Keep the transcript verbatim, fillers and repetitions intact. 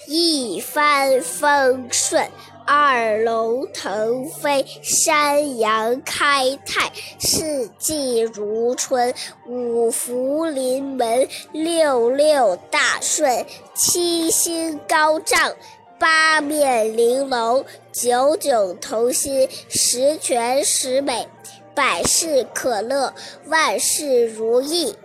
一帆风顺，二龙腾飞，三阳开泰，四季如春，五福临门，六六大顺，七星高照，八面玲珑，九九同心，十全十美，百事可乐，万事如意。